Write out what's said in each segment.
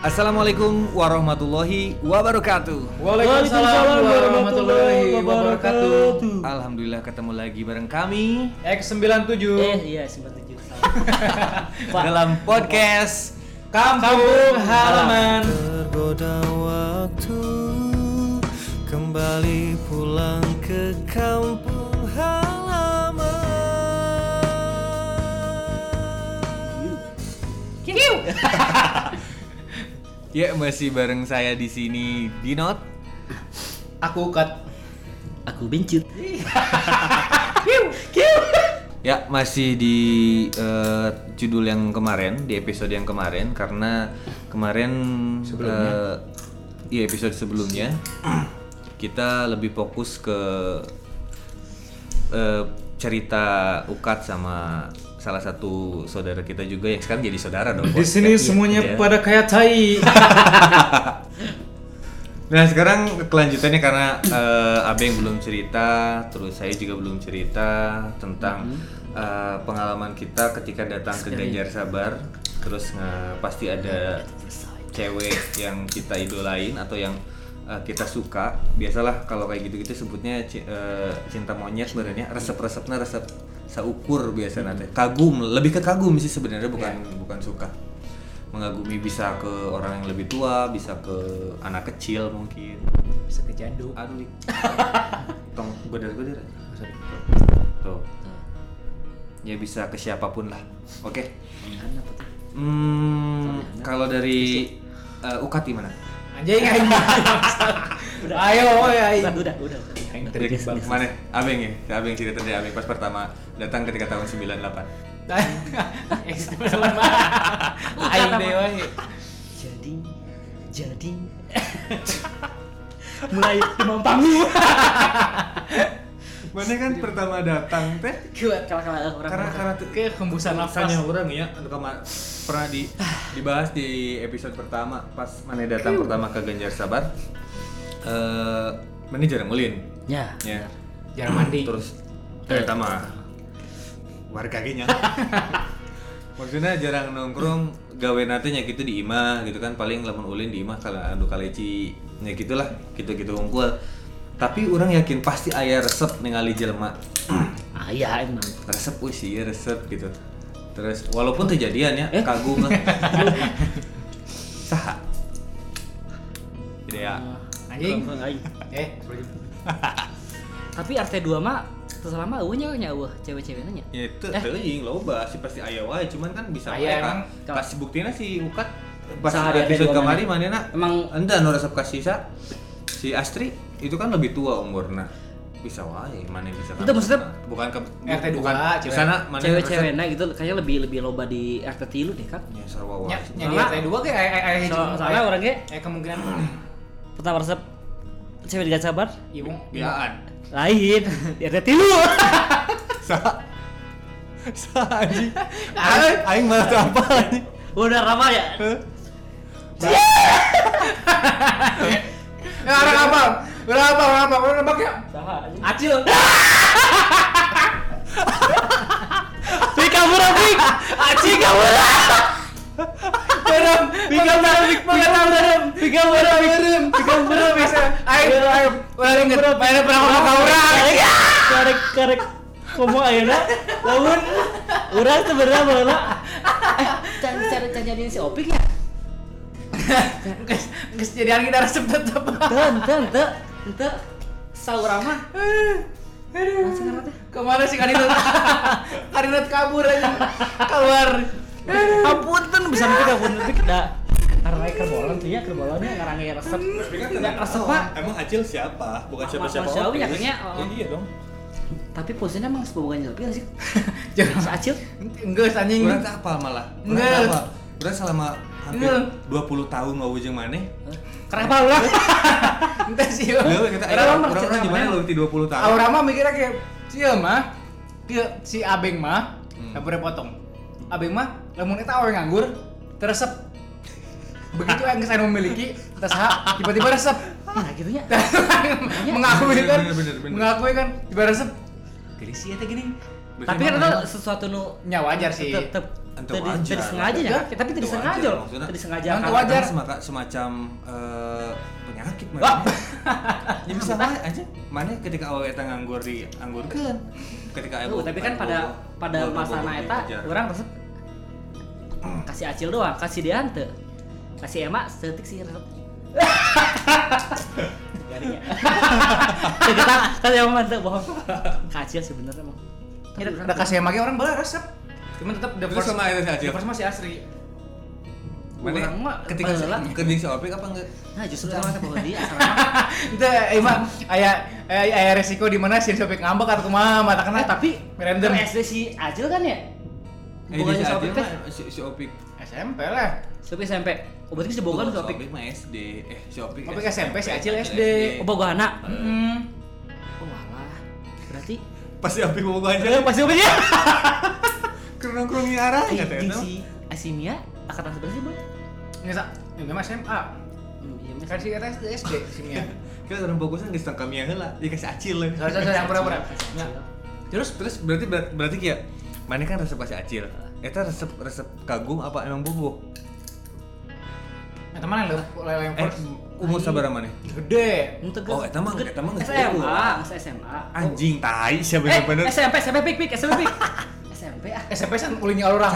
Assalamualaikum warahmatullahi wabarakatuh. Waalaikumsalam warahmatullahi wabarakatuh. Alhamdulillah ketemu lagi bareng kami X97 Iya 97 dalam podcast Kampung Halaman. Tergoda waktu kembali pulang ke kampung halaman. Ya, masih bareng saya di sini Dinot. Aku cut. Aku bencut. Ya, masih di judul yang kemarin, di episode yang kemarin, karena kemarin episode sebelumnya kita lebih fokus ke cerita Ukat sama salah satu saudara kita juga yang sekarang jadi saudara dong. Di sini semuanya pada kayak tai. Nah, sekarang kelanjutannya karena Abeng belum cerita, terus saya juga belum cerita tentang pengalaman kita ketika datang ke Ganjar Sabar. Terus pasti ada cewek yang kita idolain atau yang kita suka. Biasalah kalau kayak gitu-gitu sebutnya cinta monyet sebenarnya. Resep-resepnya resep seukur biasa nanti. Kagum, lebih ke kagum sih sebenarnya, bukan suka. Mengagumi bisa ke orang yang lebih tua, bisa ke anak kecil mungkin, Bisa ke jaduk. aduh tong godar-godar tuh ya, bisa ke siapapun lah. Oke. Kalau dari Ukat gimana? Anjing. Ayo, Udah. Dari mana? Abeng ya? Abeng cerita dari Abeng pas pertama datang ketika tahun 98. Aing dewa. Jadi mulai demam panggung. Mana kan pertama datang teh? Kuat kalau orang Karena Kayak hembusan rasanya nafas. orang ya, pernah dibahas di episode pertama pas mana datang pertama ke Ganjar Sabar. Mana jarang ulin. ya. Jarang mandi. Terus ternyata mah warga genya. Maksudnya jarang nongkrong, gawe natenya gitu di imah gitu kan, paling lamun ulin di imah kalau anu kaleci nya gitulah, gitu-gitu unggul. Tapi orang yakin pasti aya resep ningali jelema. Ya emang. Resep sih resep gitu. Terus walaupun kejadian ya kagum lah. Saha. Jadi ya. Anjing. Aing. Tapi Tapi RT2 mah selama eueuh nya cewek-ceweknya nya. Ya itu teuing loba sih pasti aya wae, cuman kan bisa Aya wae emang. kasih buktina si Ukat pas Sahari episode RT2 kemarin manehna Emang ente anu resep kasih si Astri itu kan lebih tua umurna. Bisa wae maneh bisa. Itu maksudnya bukan RT2 bukan di cewek. sana maneh cewek-ceweknya gitu kayaknya lebih loba di RT3 deh kan. ya sarwa wae. Nyadi RT2 kayak aya Soalnya orangnya kemungkinan pertama resep cewek di Ganjar Sabar ibu Biaan. lain di RT3. Sa anjing. Aing malah teu apa anjing. Udah ramah ya. orang apa? Orang nebak ya? Acil. Pika murah pik. Acing kamu. Berem. Pika murah Bisa. Ayo. Udah inget. Mana pernah ngomong ke orang? Karek komo ayeuna lamun urang sebenarnya baheula cara jadiin si Opik ya. Geus jadian kita resep tetep. Teu saurang mah. Aduh. Kemana sih Karinat? Karinat kabur aja. Keluar. Ampun bisa mikir ampun pik da karena kerbolan tuh ya kerbolannya ngarange resep. Enggak resep Pak. Emang Acil siapa? Bukan siapa-siapa. Manusiawi ya kayaknya. Ya iya dong. Tapi posisinya emang sebuah Ganjar sih. Jangan Si Acil. Enggak anjing. Urang teh apal malah. Enggak. Urang selama hampir 20 tahun ngawujeng maneh. Kenapa ulah? Entah sih. Leuwih kita orang di mana leuwih ti 20 tahun. Aura mah mikirnya kayak sia mah. Si Abeng mah dapure potong. Abeng mah lamun eta awe nganggur teresep. Begitu yang saya memiliki, terus tiba-tiba resep. Nah gitu ya. Mengakui kan? Bener. Mengakui kan tiba resep. Gini sih eta gini. Tapi kan itu sesuatu nu Ya wajar sih. tetep Ente wajar. Tadi sengaja ya, tapi tadi Ente sengaja wajar, loh. maksudnya. Tadi sengaja. Ente karena- wajar. Semacam penyakit Wah. mana? Ya bisa mah aja. Mana ketika awal eta nganggur di anggurkeun. Ketika Tapi kan pada masana eta orang resep kasih acil doang, kasih dia henteu. Kasih emak setik sih resep. Garing ya. Kita kan emang mantep bohong. Kacil sebenarnya emang. Ya, udah kasih emangnya orang boleh resep. Cuman tetap the Terus first sama itu si Acil. The first masih asli. Mana Orang mah ketika baheula. kening si Opik apa enggak? Nah justru sama bahwa dia asal Itu emang aya resiko di mana si Sopik ngambek atau kumaha mata kena tapi random SD si Acil kan ya? Jadi Bukannya si Sopik Acil teh? mah si Opik. SMP lah. Sopik SMP. Oh berarti si Bogan Si Sopik. Opik mah SD. Si Opik. Opik SMP, si Acil SD. Oh Bogana. Hmm. Oh alah. Berarti Pasti Opik mau gua aja. pasti Sopik ya. Kerong-kerong arah enggak teh. Si Asimia angkatan seberapa sih, Bang? Ini sak, ini mah SMA. Iya, Mas. Kan si eta SD si Mia. Kita orang fokusnya geus tang kami heula, dikasih Acil lah. Sorry yang pura-pura. Ya. Terus berarti kayak mana kan resep kasih Acil. Eta resep kagum apa emang bobo? Nah, teman yang yang first Umur sabar mana? gede. Oh, eta mah geus SMA, SMA. Anjing tai sia bener-bener. SMP pik. SMP ah. SMP san ulinya orang.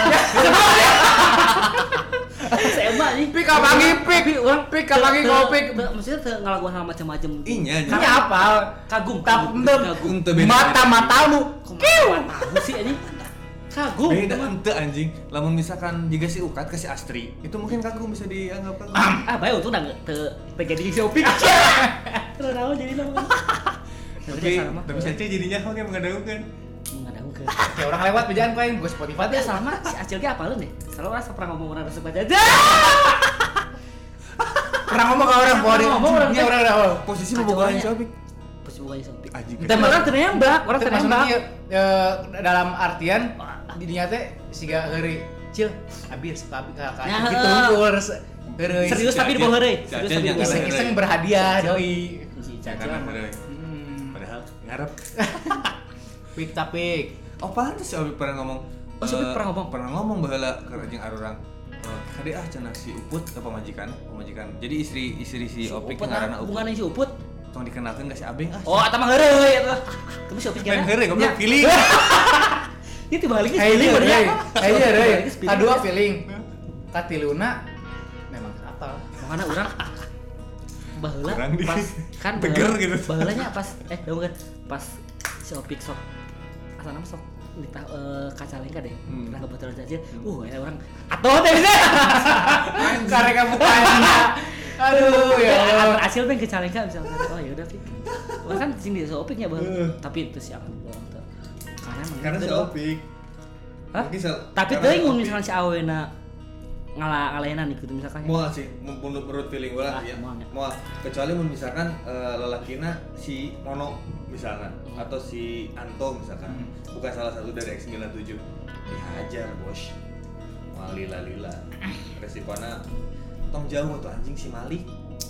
SMA nih. Pik kapangi pik. Pik kapangi kopik. Maksudnya teu ngalakuan hal macam-macam. Inya. Ini apa? Kagum. Kagum teu beda. Mata-matamu. Kieu. Tahu sih anjing. Kagum. Beda ente anjing. Lamun misalkan jika si Ukat kasih Astri, itu mungkin kagum bisa dianggap kagum. Ah, bae untung udah teu jadi si Opik. Terus naon jadi nama. Tapi saja jadinya oke mengadaukan. Mengadangkeun. Kayak orang lewat bejaan kau yang buka Spotify Tapi dia sama si Acil ge apalun deh. Selalu rasa pernah ngomong orang resep aja. pernah ngomong ke orang bahwa dia Ngomong orang dia orang dah. Posisi Kacau bobogohan banyak. si Opik. Pas bukan Opik. Anjing. Kita Orang ternembak, orang Maksudnya ternembak. dia, dalam artian di dinya teh siga heureuy cil abi suka abi ka Nah, gitu harus heureuy Serius tapi di bawah heureuy. Si Serius Acil tapi di yang bawah heureuy. iseng-iseng berhadiah doi Si Jangan Acil. bener. Hmm. Padahal ngarep. Pik tapik Oh pantes si Opik pernah ngomong. Oh, si Opik pernah ngomong? Pernah ngomong baheula ke jeung arurang. Kade cenah si Uput apa pemajikan. Jadi istri si Opik Uput ngaranna Uput. hubungannya si Uput. Tong dikenalkeun ka si Abeng Oh, eta mah heureuy eta. Tapi si Opik Main gimana? heureuy goblok feeling. Itu baliknya Kayaknya feeling heureuy bener. kayaknya heureuy Feeling. kadua feeling katiluna memang apa Makanya orang baheula Kurang di- pas kan teger baheula- gitu. baheulanya pas bukan pas si Opik sok asal nama sok kacalengka deh Hmm. pernah kebetulan aja ya orang atuh teh bisa karek bukanya aduh ya Allah. hasil teh kacalengka misalkan oh ya udah Pik orang kan sini si Opiknya baheula tapi itu siapa orang tuh Karena si gitu. Opik. Hah? Mungkin Tapi karena teuing si mun Opik. misalkan si awena ngalahenan gitu misalkan Moal sih, menurut feeling gue lah ya. moal ya. Moal. Kecuali mun misalkan lelakina si Nono misalkan atau si Anto misalkan, bukan salah satu dari X97 dihajar bos. Moal lila. Resikonya tong jauh tuh anjing si Malik.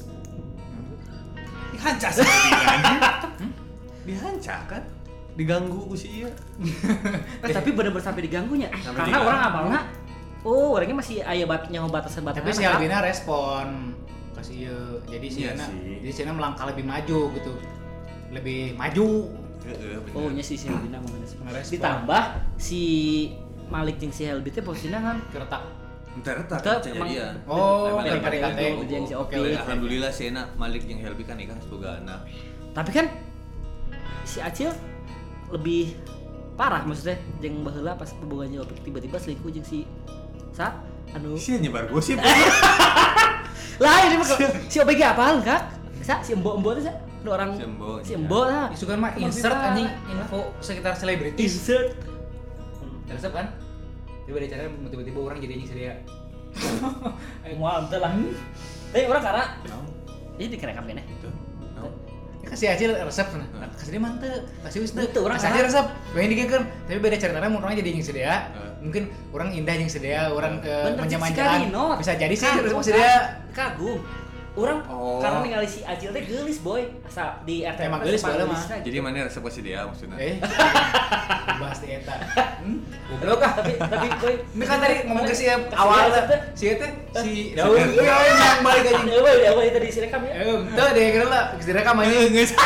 Dihancak sih anjing. Dihancak kan? Diganggu ku si ieu. Tapi bener-bener sampai diganggunya Sampai karena diganggu. orang apalna orangnya masih aya nyawa batasan-batasan tapi si Albina respon kasih ya jadi si Iya Ana sih. jadi si Ana melangkah lebih maju gitu lebih maju Heeh, bener. oh nya si Helbina mengerespon Ngerespon. ditambah si Malik jeung si Helbi teh posisinya kan keretak Bentar Teu, kejadian. emang- Oh, Emang dari PDKT. PDKT. Kejadian si Opik. Oke. Alhamdulillah si Ena Malik jeung Helbi kan nikah semoga anak. tapi kan si Acil lebih parah maksudnya jeung baheula pas hubungannya Opik tiba-tiba selingkuh jeung si anu Si nyebar gosip. lah ini mah si Opik ge apaan kak si embo-embo teh ada orang Si Embo, si embo lah Isu kan mah insert anjing info sekitar selebritis. insert Resep kan? Tiba-tiba tiba-tiba orang jadi anjing sedia. mau ante lah tapi orang karena ini dikerekam kene Itu. No. Ya kasih Acil resep sana. Kasih dia mantep, kasih wis teu. Teu, orang Kasih aja salah. resep. Pengen digeunkeun, tapi beda ceritanya mun orang jadi anjing sedia. Heeh. Mungkin orang indah jeung sedia, orang Bener, menjaman si Karino. Bisa jadi sih Kagum, resep sedia. kagum Orang Oh. karena ningali si Acil teh geulis boy. Asa di RT Emang mah geulis sempat baheula mah. geulisna gitu. Jadi mana resep si dia maksudnya? Bahas di eta. Goblok ah. tapi boy, Ini kan tadi ngomong ke si Kasih awal resep teh. si eta si Daud yang balik anjing. Eueuh tadi si rekam ya. Tuh deh kira lah direkam anjing. Geus.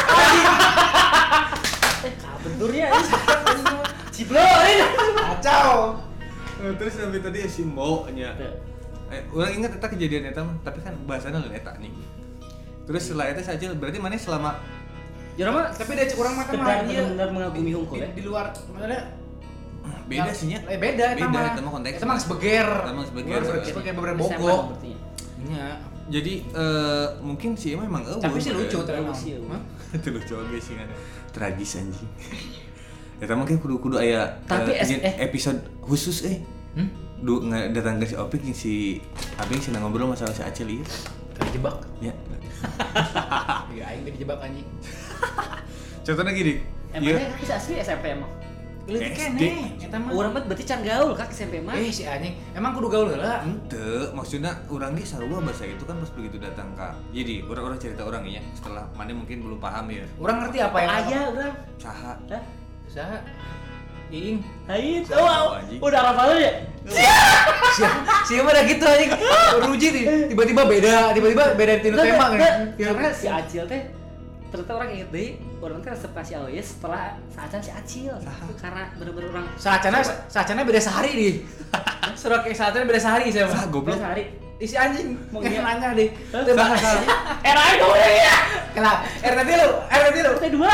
Kabenturnya Ciblo ini. Kacau. Terus sampai tadi si Mbo nya. Orang ingat eta kejadian eta mah, tapi kan bahasana lain eta nih. Terus setelah eta saja berarti mana selama Jora mah Tapi dia kurang makan mah sekedar dia benar mengagumi hungkul ya. di luar maksudnya beda sih nya. Beda eta mah. Eta mah konteks. Eta mah sebeger. Eta mah sebeger. Sebeger beberapa SMA bogok. berarti ya. Nya. Jadi mungkin sih emang eueuh. Tapi sih lucu ternyata. Lucu. Hah? Itu lucu oge sih kan. Tragis anjing. Eta mah kayak kudu aya Tapi episode khusus datang ke si Opik yang si Abing sih ngobrol masalah si Acil ieu. Terjebak. Ya. Ya aing dijebak anjing. Contohnya gini. Emangnya bisa asli SMP emang? Leutik SD. keneh eta mah. Urang mah berarti can gaul kak SMP mah. Si anjing, emang kudu gaul heula. Ente, maksudnya orang ge sarua bahasa itu kan pas begitu datang ke. Jadi orang cerita orang ya, setelah mana mungkin belum paham ya. Urang ngerti apa yang Aya urang. Saha. Hah? Saha? Iing. Haid. Tahu, Oh, anjing. udah hafal ya? Siapa udah gitu anjing. Ruji nih, tiba-tiba beda tinu tema kan. Karena si Acil teh ternyata orang inget deh, orang teh resep kasih Aoye setelah saacan si Acil. Karena bener-bener orang Saacana beda sehari nih. Surat kayak saacana beda sehari saya mah. Goblok. sehari. Isi anjing. Mau Mau iya? nanya deh. Teu bahasa. Era itu ya. Kena RT lu. Teh dua.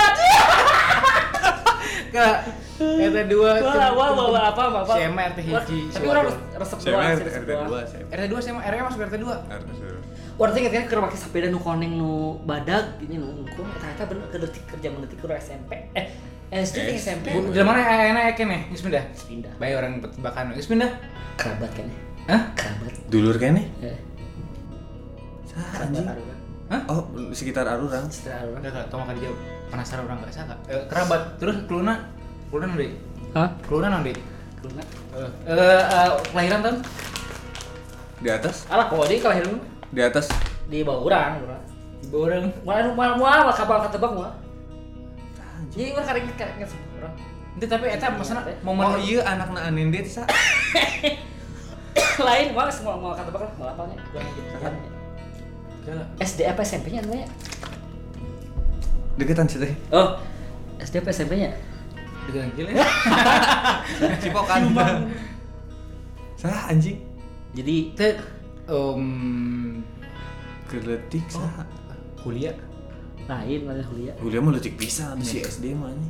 Kena RT 2. Wah apa. SMA RT hiji. Tapi orang resep doang. Saya resep RT doang. 2 saya. RT 2 SMA RW masuk RT 2. Orang teh inget kan keur make sepeda nu koneng nu badag ini nu ngkum eta bener kedetik kerja mendetik keur SMP. SD teh SMP. Di mana enak keneh? Geus pindah. Pindah. Bae orang tebakan. Geus pindah. Kerabat kan ya. Hah? Kerabat. Dulur kene? Kerabat Anjing. Arura. Hah? Oh, sekitar Arurang. Setelah Arura. Enggak, tau makan dijawab. Penasaran orang enggak saka. Kerabat. Terus keluna nanti. Hah? Keluna nanti. Keluna. Kelahiran tahun? Di atas? Alah, kok dia kelahiran Di atas. di bawah urang. Di bawah orang. Mual kapal ketebak mual. Jadi urang karek urang. Itu tapi eta maksudna Oh momen iya anakna Aninde teh sa. Lain mual semua mual ketebak lah, mual apalnya. Urang Gila. SD apa SMP-nya namanya? Deketan sih teh. Oh, SD apa SMP-nya? Dengan gila. Cipokan. Saha anjing? Jadi Teh Keletik saha. kuliah. lain mana kuliah. Kuliah mah leutik pisan si SD mah anjing.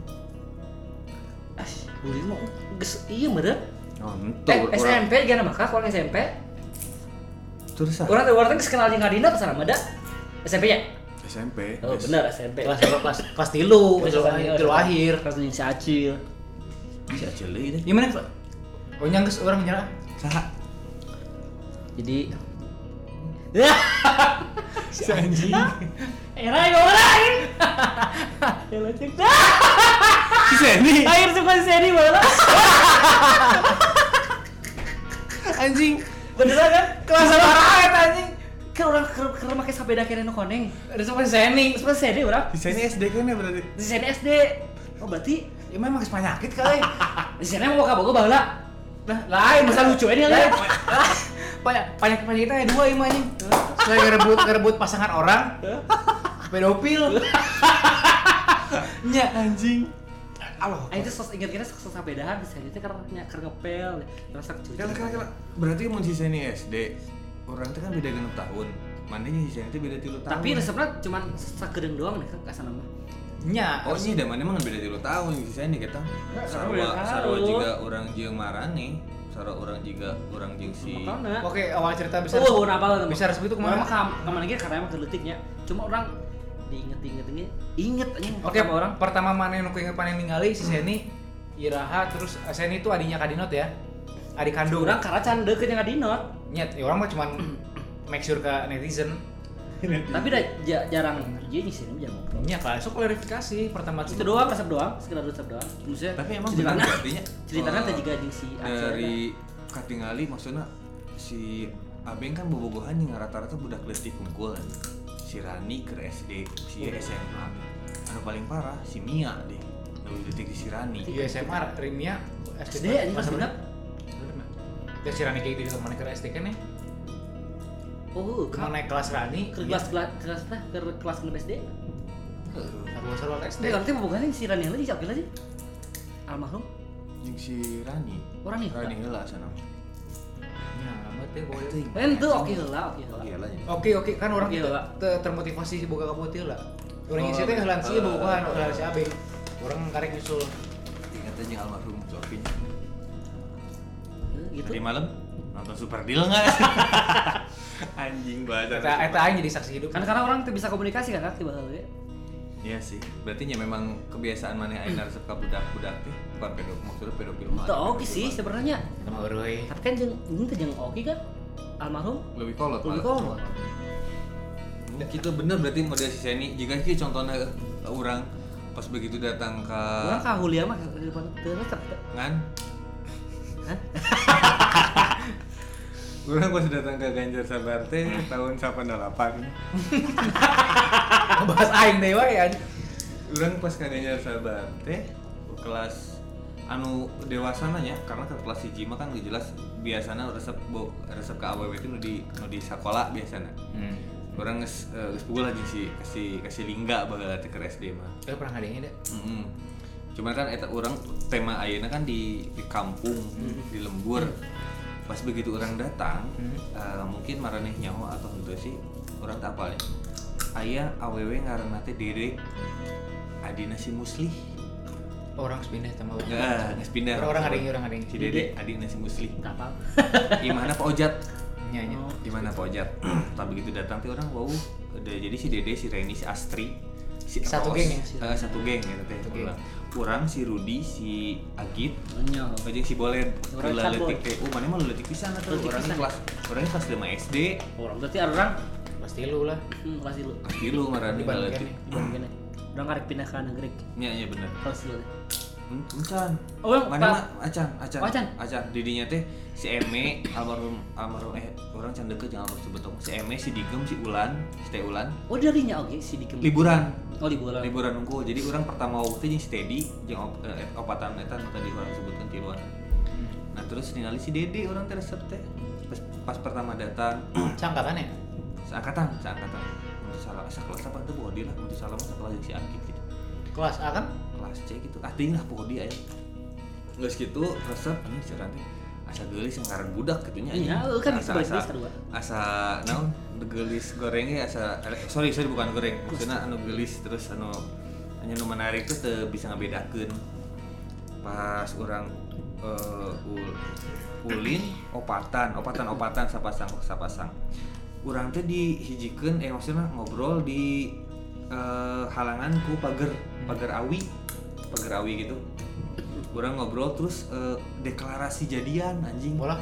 Kuliah mah geus ieu meureun. Oh, entuh. SMP gana maka kalau SMP. Terus saha? Orang geus kenal jeung Adina pas sama da. SMP-nya. SMP. Oh, Yes. bener SMP. Kelas tilu akhir. Kelas jeung si Acil. Si Acil deui teh. Gimana? Oh nyangges orang nyerah. Saha? Jadi Si anjing. era yang lain. Ya lecek dah. Si Seni. Akhir suka si Seni malah. Anjing. Beneran kan? Kelas parah eta anjing. Kan orang keur make sepeda kene nu koneng. Ada sama Seni. Terus Seni urang. Si Seni SD kan ya berarti. Di Seni SD. Oh berarti Ya memang geus penyakit kali. di Seni mau ka boga baheula. Lah lain Masa lucu ini lain. lihat. Banyak kita ada dua ieu anjing. Selain ngerebut pasangan orang. Pedofil. Nya Anjing. Allah. Itu ingat-ingat sos sabedahan di Seni teh karena keur ngepel. Terus cuci. Kala. Berarti mun si Seni SD, orang teh kan beda 6 tahun. Manehnya si Seni teh beda 3 tahun. Tapi resepna cuma sakedeung doang nih ka sana mah. Nya. Oh sih, da maneh mah beda 3 tahun si Seni kita. Sarua juga orang jeung Marane, sarua orang juga orang jeung si Makana. Oke, awal cerita besar. Oh, apa Bisa resep itu kemana? Kemana lagi karena emang geletiknya. Cuma orang inget anjing Oke, pertama orang. pertama mana yang aku inget paling ningali si Seni, Iraha, terus Seni itu adiknya Kadinot ya, adik kandung. Orang karena can deket yang Adinot. Nyet, ya orang mah cuman make sure ke netizen. Tapi udah jarang dia nih sih, jarang ngobrol. Nya kan, so klarifikasi pertama Itu doang, resep doang, sekedar resep doang. Maksudnya Tapi emang ceritanya bener artinya ceritanya teh juga jeung si Acil. dari katingali maksudnya si abeng kan bobogohan yang rata-rata budak leutik unggul kan. Si Rani ke SD, si SMA. Anu paling parah si Mia deh. Nu leutik di si Rani. Iya SMA Rimia SD anjing kelas genep. Ya si Rani kayak gitu mana ke SD kan ya? Oh, Kemana naik kelas Rani? ke kelas genep SD. Sarwa SD. Berarti bobogohan si Rani lagi siapa lagi? Almarhum. Jeung si Rani. Orang nih. Rani heula cenah. Ya, amat teh boleh. Ente oke heula. Iya lah. Oke kan orang Oke, lah. termotivasi si boga kaputih lah. Orang isi teh heulan sih bogohan heulan si Abeng. Orang karek nyusul. Ingat aja almarhum Cokin. Gitu. Tadi malam nonton Super Deal enggak? Anjing banget. Eta aing jadi saksi hidup. Kan karena orang tuh bisa komunikasi kan tiba heula. Iya sih. Berarti nya memang kebiasaan mana aing resep ka budak-budak teh bukan maksudnya pedofil mah. Itu oke sih sebenarnya. Nama euy. Tapi kan jeung ini teh jeung oke kan almarhum Lebih kolot lebih malah. kolot. Kita bener berarti model si Seni jika sih contohnya orang pas begitu datang ke Orang ka Hulia mah teu resep. ngan Hah? orang pas datang ke Ganjar Sabar teh tahun 88 Ngebahas aing deh wae anjing. orang pas ke Ganjar Sabar teh kelas anu dewasa nya karena ke kelas 1 mah kan gak jelas biasanya resep ke AWW itu nu di sekolah biasanya orang geus pukul aja sih kasih lingga bagal teh ke SD mah. Pernah ngadengin deh. Cuman kan eta orang tema ayeuna kan di kampung di lembur. Pas begitu orang datang, mungkin maraneh nyaho atau henteu sih orang tak apal ya. Aya awewe ngaranna teh Dede adina si Muslih. Orang pindah sama Geus pindah. Orang ngadengin. Si Dede adina si Muslih. Tak apa. Gimana Pak Ojat? Nyanyi. Gimana Pak Ojat? Tak begitu datang teh orang wow, jadi si Dede, si Reni, si Astri, si Satu Ros. geng ya? Satu geng gitu teh. Urang si Rudi, si Agit, Nyo. jeung si Bolet. Urang Heula Bolet. leutik teh. Mana mah leutik pisan atuh. Leutik pisan. Urang kelas 5 SD. Orang berarti ada orang Pasti lu lah. kelas dulu. Kelas 3 marane Di Bandung leutik. Dibanding gini. Orang karek pindah ke negeri. Nya bener. Kelas dulu. Encan. Oh, yang Mana Pak- mah acan. Oh, acan. Acan. Didinya teh si Eme almarhum orang can deket jeung almarhum sebetulnya. Si Eme, si Digem, si Ulan, si Teh Ulan. Oh darinya oke si Dikem. Liburan. Oh liburan. Liburan unggul. Jadi orang pertama waktu jeung si Teddy jeung opatan eta nu tadi orang sebutkeun tiluan. Nah terus ningali si Dede orang teh resep teh. Pas pertama datang Cangkatan ya? seangkatan. Mun salah kelas apa teh bodi lah, mun salah mah sakelas jeung si Agit gitu. Kelas A kan? Kelas C gitu. Ting lah bodi aya. Geus kitu resep anjing ceran teh asa geulis ngaran budak kitu nya. Iya, kan bisa kedua. Asa naon geulis goreng ge asa sorry bukan goreng. Maksudna anu geulis terus anu hanya nu menarik tuh teu bisa ngabedakeun. Pas urang ulin opatan sapasang. Urang teh dihijikeun maksudna ngobrol di halangan ku pagar awi gitu. Urang ngobrol terus deklarasi jadian anjing. Bola.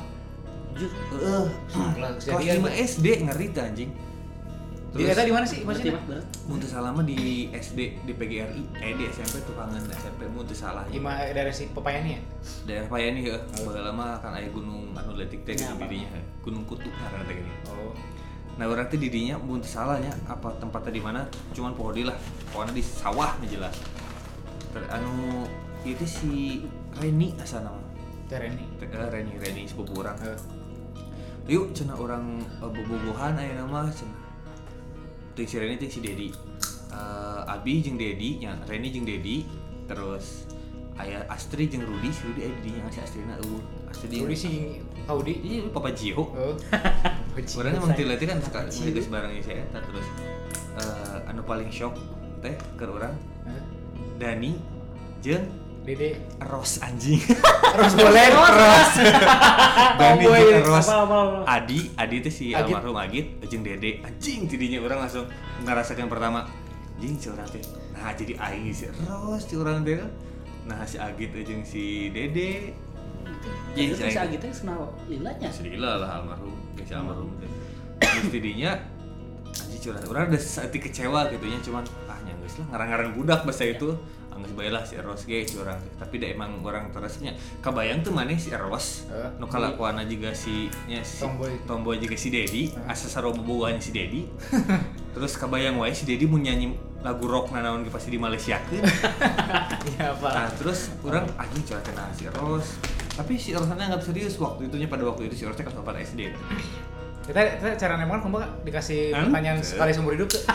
Kelas 5 SD ngeri teh anjing. Di eta di mana sih Berarti maksudnya? mah berat. Mun teu salah mah di SD di PGRI, di SMP tukangan SMP mun teu salah. Ima dari si Pepayani ya? Daerah Payani heuh. Baheula mah kan aya gunung anu leutik teh di didinya. Gunung Kutuk ngaranna teh gini. Oh. Nah, urang teh di dinya mun teu salah nya apa tempatnya di mana cuman poho deui lah. Pokona di sawah mah jelas. Anu itu si Reni asana mah. Tereni. Reni sepupu urang. Yuk cenah urang bobogohan ayeuna mah cenah. Teh si Reni teh si Dedi. Abi jeung Dedi, nya Reni jeung Dedi, terus aya Astri jeung Rudi, si Rudi aya di dinya si Astrina Astri Rudi si Audi. Iya, Papa Jio. Oh. Orangnya emang tilati kan suka ngegeus barangnya saya eta terus anu paling shock teh ke urang Dani jeung Dede. Ros anjing. Terus boleh. Terus. Dani boy. jeung Ros. Apa. Adi teh si Agit. almarhum Agit jeung Dede anjing tidinya urang langsung ngarasakeun pertama anjing si urang teh. Nah jadi aing si Ros si urang teh. Nah si Agit jeung si Dede. Jadi si Agitnya senang lilanya. Sedila lah almarhum, si almarhum teh. Terus tidinya anjing curhat. Urang udah saeutik kecewa gitu nya cuman nya geus lah ngarang-ngarang budak bahasa itu Angges bae lah si Eros ge si urang teh. Tapi da emang orang teresnya kabayang tuh maneh si Eros nu kalakuanna juga si tomboy juga si Dedi asa sarobobogan si Dedi. Terus kabayang wae si Dedi mun nyanyi lagu rock nanaon ge pasti di Malaysiakeun. Iya, Pak. Nah, terus orang anjing curhatin si Eros. Tapi si Eros anggap serius waktu itunya pada waktu itu si Eros teh kelas 4 SD. Kita cara nembak kumaha dikasih pertanyaan sekali seumur hidup tuh.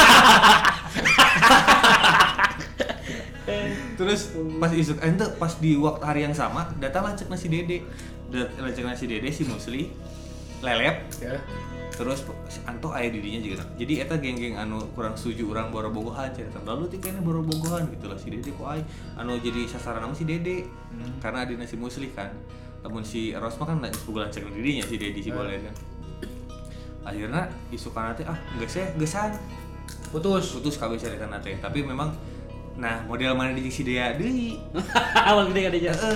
Terus pas isuk ente pas di waktu hari yang sama datang lancek nasi Dede. Lancek nasi Dede si Musli lelep. Ya. Terus anto aya didinya juga. Jadi eta geng-geng anu kurang setuju urang borobogohan cerita. Lalu ti kene borobogohan gitu lah si Dede ku ai anu jadi sasaran nama si Dede. Karena adina si Musli kan. Namun si Eros mah kan sebulan cek didinya si Dedi si Bolen kan. Akhirnya isukan teh gesan putus kabeh cerita teh. Tapi memang nah model mana di si Dea deui. Awal gede gede aja.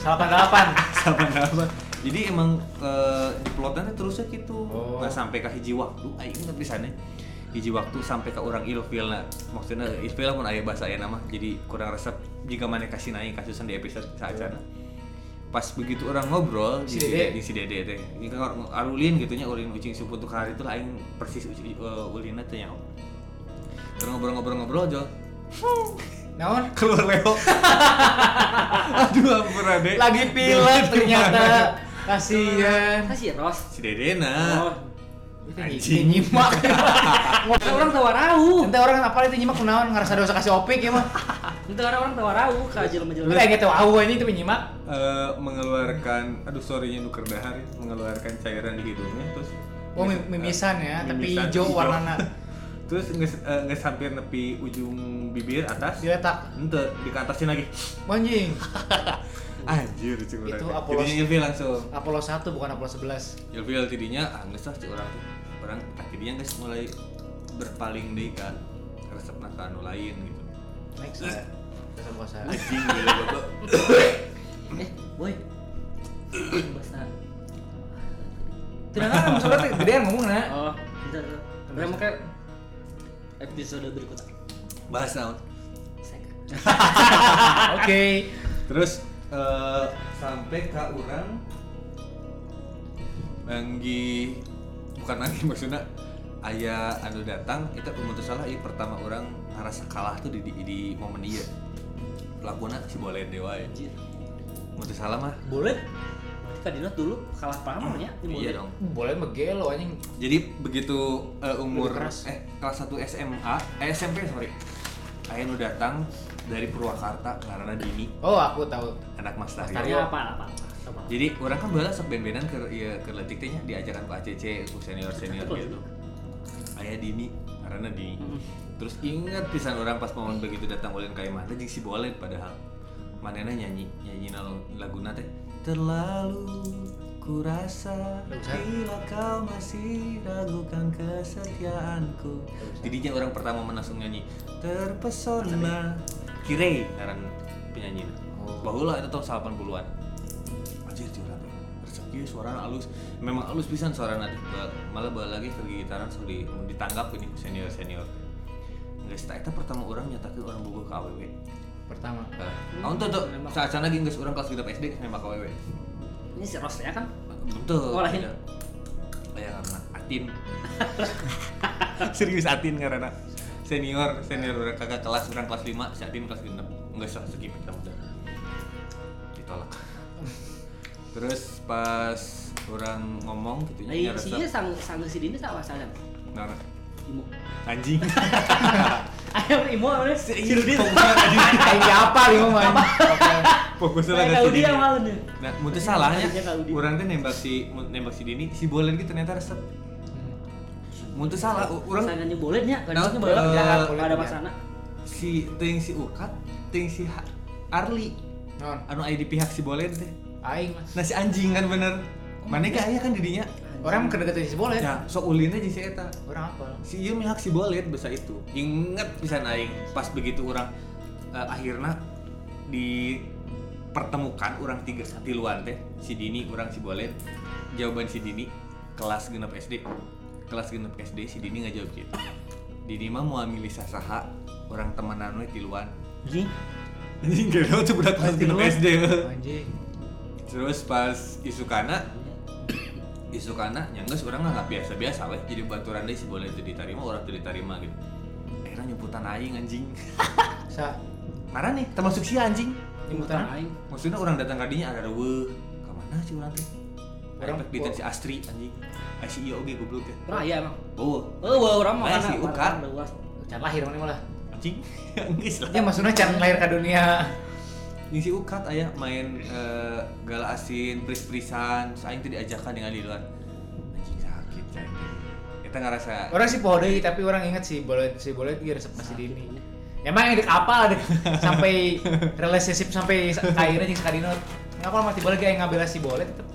88. Jadi emang plotnya terusnya gitu. Nah sampai ke hiji waktu aing inget pisannya. Hiji waktu sampai ke orang ilfil nah. Maksudnya ilfil mun aya bahasa aya nama jadi kurang resep jika maneh kasih naik kasusan di episode saacana. Pas begitu orang ngobrol di si Dede teh. Ini kan arulin gitunya ulin ucing supu tuh hari itu aing persis ulinna teh nya. Terus ngobrol-ngobrol aja. Naon? Keluar Leo. Aduh ampun Ade. Lagi pilek ternyata. Kasihan. Kasih Ros. Si Dedena. Oh. Itu nyimak. Ngobrol orang tawarau. Ente orang apa itu nyimak kunaon ngarasa dosa kasih opik ya mah. Itu orang tawarau ka jelema-jelema. Kita gitu au ini itu nyimak. Mengeluarkan sorry-nya nuker dahar ya, mengeluarkan cairan di hidungnya terus mimisan ya, tapi mimisan, hijau warnana. Terus nggak hampir nepi ujung bibir atas Diletak. ente dikatasin lagi Anjing. anjir cik urang Itu teh. Apollo. Tidinya ilfil langsung Apollo 1 bukan Apollo 11. ilfil tidinya geus lah cik urang teh orang akhirnya geus mulai berpaling deui kan resepna ka anu lain gitu Next ya. Puasa. anjing gila bapak Boy. Bahasa. Tidak kan maksudnya gedean ngomongna. Oh, bentar. Udah make episode berikutnya. bahas naon Oke. terus sampai ke orang lagi bukan lagi maksudnya aya anu datang itu pemutus salah ieu pertama orang ngerasa kalah tuh di momen ieu pelakuna si Bolen dewa ya Anjir. pemutus salah mah Boleh. Kadina dulu kalah pamornya iya dong Boleh megelo anjing. jadi begitu umur Lebih keras. kelas 1 SMA SMP sorry aya nu datang dari Purwakarta karena Dini Oh, aku tahu. anak Mas Taryo. Tanya apa? Jadi orang kan bala sok ben-benan ke letik teh nya diajakan ke ACC ku senior-senior gitu. Aya Dini karena Dini. Terus inget pisan orang pas momen begitu datang ulin ka imah teh jeung si Bolen padahal. Manehna nyanyi laguna teh terlalu kurasa bila kau masih ragukan kesetiaanku. Jadinya orang pertama langsung nyanyi terpesona Kirei ngaran penyanyi. Baheula itu tahun 80-an. Anjir curhat. Resep ieu suarana alus. Memang alus pisan suarana teh. Malah bae lagi ke gitaran so ditanggap ini ku senior-senior. Geus eta pertama orang nyatakeun orang bogoh ka AWW. Pertama. Tahun tuh saat-saat lagi geus urang kelas 3 SD nembak ka AWW. Ini si Ros ya kan? Betul. Oh, lain. Kayak karena Atin. Serius Atin karena senior orang kakak kelas orang kelas 5, si Atin kelas 6. Enggak usah skip kita udah. Ditolak. Terus pas orang ngomong gitu nya Iya sih sang si Dini sama saja. Nah, Imo. anjing. Ayo Imo oleh si Rudi. Kayak apa lima mah? Fokusnya Kayak lagi Audi yang malu nih. Nah, mutu salahnya. Kayak Audi. Urang teh nembak si Dini, si Bolen gitu ternyata resep. Mutu salah, urang Sangannya bolehnya, Nah, kadang boleh boleh, ada ya. masana. si Ukat, si Arli. Non. Anu aya di pihak si Bolen teh. Aing mah. Nah si anjing kan bener. Mana gak aya kan didinya? Orang kedeketan si Boleh. Ya, sok ulin aja si eta. Orang apa? Si ieu mihak si Bolet basa itu. Inget pisan aing pas begitu orang akhirna dipertemukan orang tiluan teh, si Dini, orang si Bolet. Jawaban si Dini kelas 6 SD. Kelas 6 SD si Dini ngajawab gitu. Dini mah mau milih saha orang temenan we tiluan. Ji. Anjing gelo tuh budak kelas 6 SD. Anjing. Terus pas isukana nyanggeus urang nggak biasa-biasa weh jadi baturan deui si boleh teu ditarima urang teu ditarima gitu. Akhirnya nyemputan aing anjing. Sa Marah nih termasuk si anjing. Nyembutan aing. Maksudnya orang datang ka dinya ada weuh. Ka mana sih urang teh? Urang Urang di si Astri anjing. Ai si ieu oge goblok teh. Raya emang. Oh, Urang mah Aya kana si Ukat. can lahir mana malah. anjing. Geus lah. Ya maksudnya can lahir ke dunia. Ngisi ukat aya main gala asin, pris-prisan, aing teh diajakan dengan di luar. Anjing sakit cai. Kita ngerasa Orang sih poho deui tapi orang inget sih boleh dia resep masih dini. Emang yang apa deh sampai relationship sampai akhirnya jeung sakadina. Ngapa mati boleh ge ngabela si boleh tetep.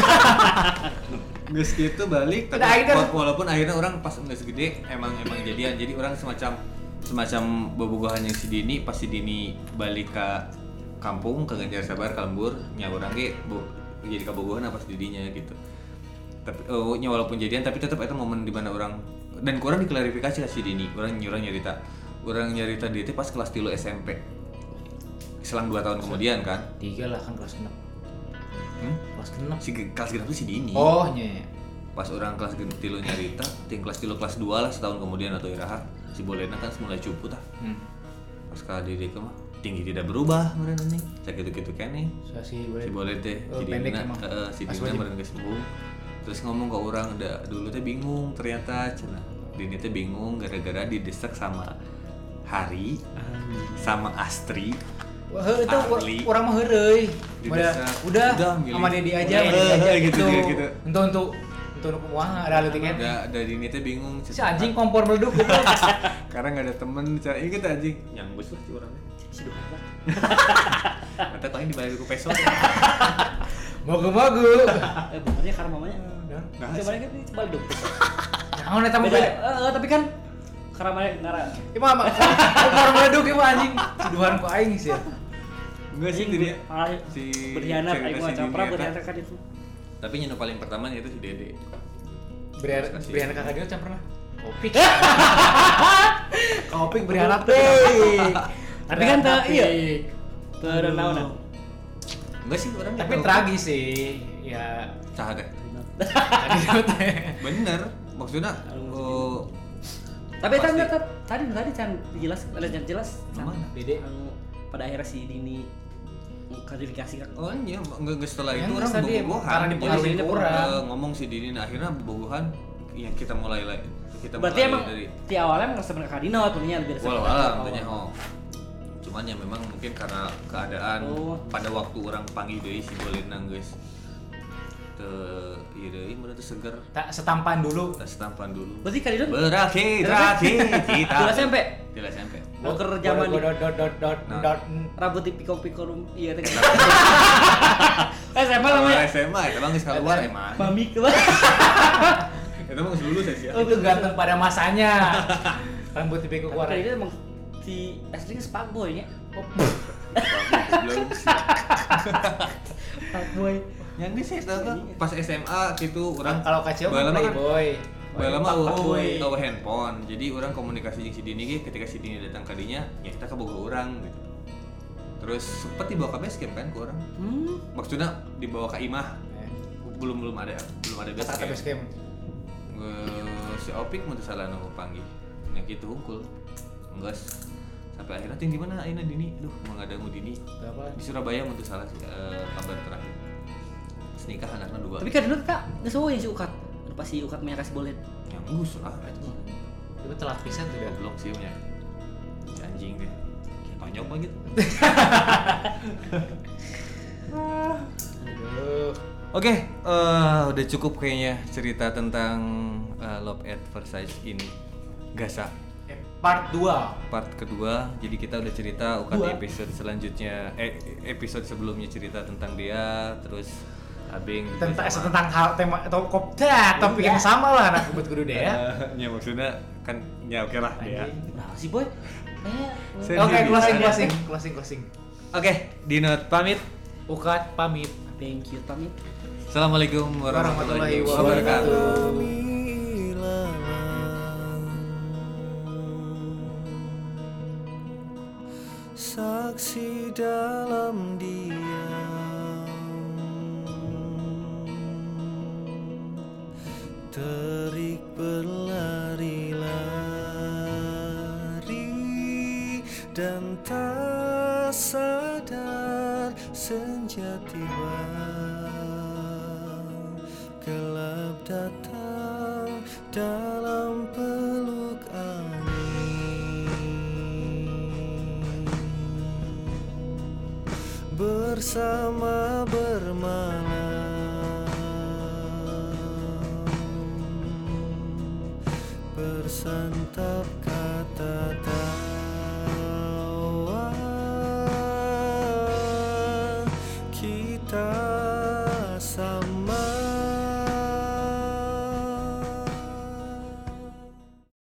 geus kitu balik tapi Udah, akhirnya- walaupun akhirnya orang pas geus gede emang jadian. Jadi orang semacam bobogohan yang si Dini pas si Dini balik ke kampung ke Ganjar Sabar ka lembur nya urang ge jadi kabogohan apa si didinya gitu. Tapi nya walaupun jadian tapi tetap itu momen di mana orang dan kurang diklarifikasi ke si Dini. Orang nyarita dia teh pas kelas 3 SMP. Selang 2 tahun kemudian kan. 3 lah kan kelas 6. Kelas 6. Si kelas 3 itu si Dini. Oh, nya. Pas orang kelas 3 nyarita, ting kelas 3 kelas 2 lah setahun kemudian atau iraha si Bolena kan mulai cupu tah. Pas ka Dede mah tinggi tidak berubah meureun anjing. Sakitu-kitu keneh. Si Si Boleh teh Oh, jadi pendek dina emang. si Pas Dina wajib. meureun geus sembuh. Terus ngomong ke orang dulu teh bingung ternyata cenah. Dini teh bingung gara-gara didesak sama Hari sama Astri. Wah, itu Arli. orang mah heureuy. Didesak. Udah Milih. sama Dedi aja, Udah, sama Dedi aja gitu. Untuk wah ada tiket. Udah Dini teh bingung. Si anjing kompor meleduk gitu. Karena nggak ada temen, cara ini kita anjing nyambus lah si orangnya. Si Duhan lah. Mata paling dibalik ku peso. Mogu-mogu. Benernya karena mamanya. Nah, Coba kan ini coba dong. Jangan eta mah Beda. beda. Tapi kan karena mana ngara. Ieu mah kompor meleduk ieu mah anjing. Tuduhan ku aing sih. Enggak sih dia. Malah Si berkhianat cerita aing si mah Dini capra eta. berkhianat kan itu. Tapi yang paling pertama itu si Dede. Berianak kakak dia can pernah. Kopik. Kopik berianak teh. Tapi kan teu iya. Teu naon. Enggak sih orang Tapi tragis sih. Ya Cah teh. tadi teh. Bener. Maksudnya Tapi tadi can jelas ada can jelas. Mana? Dede. Anu pada akhirnya si Dini klarifikasi kan. Oh iya, enggak setelah itu Yang orang tadi bobogohan. karena dipengaruhi Jadi, orang. ngomong si Dini nah, akhirnya bobogohan yang kita mulai Berarti emang di awalnya emang sebenarnya kadina atunya lebih resep. walau tentunya cuman ya memang mungkin karena keadaan pada waktu orang panggil deui si Bolena geus teu ieu deui mun teu seger Tak setampan dulu. tas tampan dulu. Berarti kadina Berakhir kita. Tidak SMP. Tidak SMP. Boker zaman di dot rambut di piko-piko iya teh. SMA namanya. SMA itu bang geus keluar emang. Mami ke. Itu mah geus lulus ya. itu ganteng pada masanya. Rambut tipe keluar. Kadina emang si aslinya fuckboy nya. Belum sih. Fuckboy. Yang di sih pas SMA gitu orang Kalau kacau baheula mah kan playboy. baheula mah Fuckboy. eueuh handphone. Jadi orang komunikasi jeung si Dini ge ketika si Dini datang ka dinya ya kita kaboga urang gitu. Terus sempet dibawa ke base camp kan ke orang. Maksudnya dibawa ke Imah. Belum ada base Kata camp. base camp. Si Opik mun teu salah nu panggih. Nya kitu hungkul. Enggeus sampai akhirnya ting di mana ayeuna Dini? Duh, mau ngadangu Dini. Berapa? Di Surabaya mun teu salah kabar terakhir. Terus nikah anaknya 2. Tapi kadina kak geus eueuh yang si Ukat. Anu pas si Ukat mah kasih bolet. Yang nggus lah itu mah. Itu telat pisan tuh dah. Goblok sih nya. Si anjing deh. Tonjok mah gitu. Aduh. Oke, udah cukup kayaknya cerita tentang Love at First Sight ini. Gasa Part 2. part kedua. Jadi kita udah cerita di episode selanjutnya episode sebelumnya cerita tentang dia, terus Abeng juga Tentang hal tema atau topik yang sama lah anak buat guru deh ya. ya maksudnya kan ya oke lah dia. Nah, si boy kayaknya Oke, Sendiri. closing. Oke, Dinot pamit. Ukat pamit. thank you pamit. Assalamualaikum warahmatullahi wabarakatuh. Sa beraksi dalam diam, terik berlari-lari dan tak sadar senja tiba, gelap datang dalam peluk angin, bersama bermalam, bersantap kata tawa kita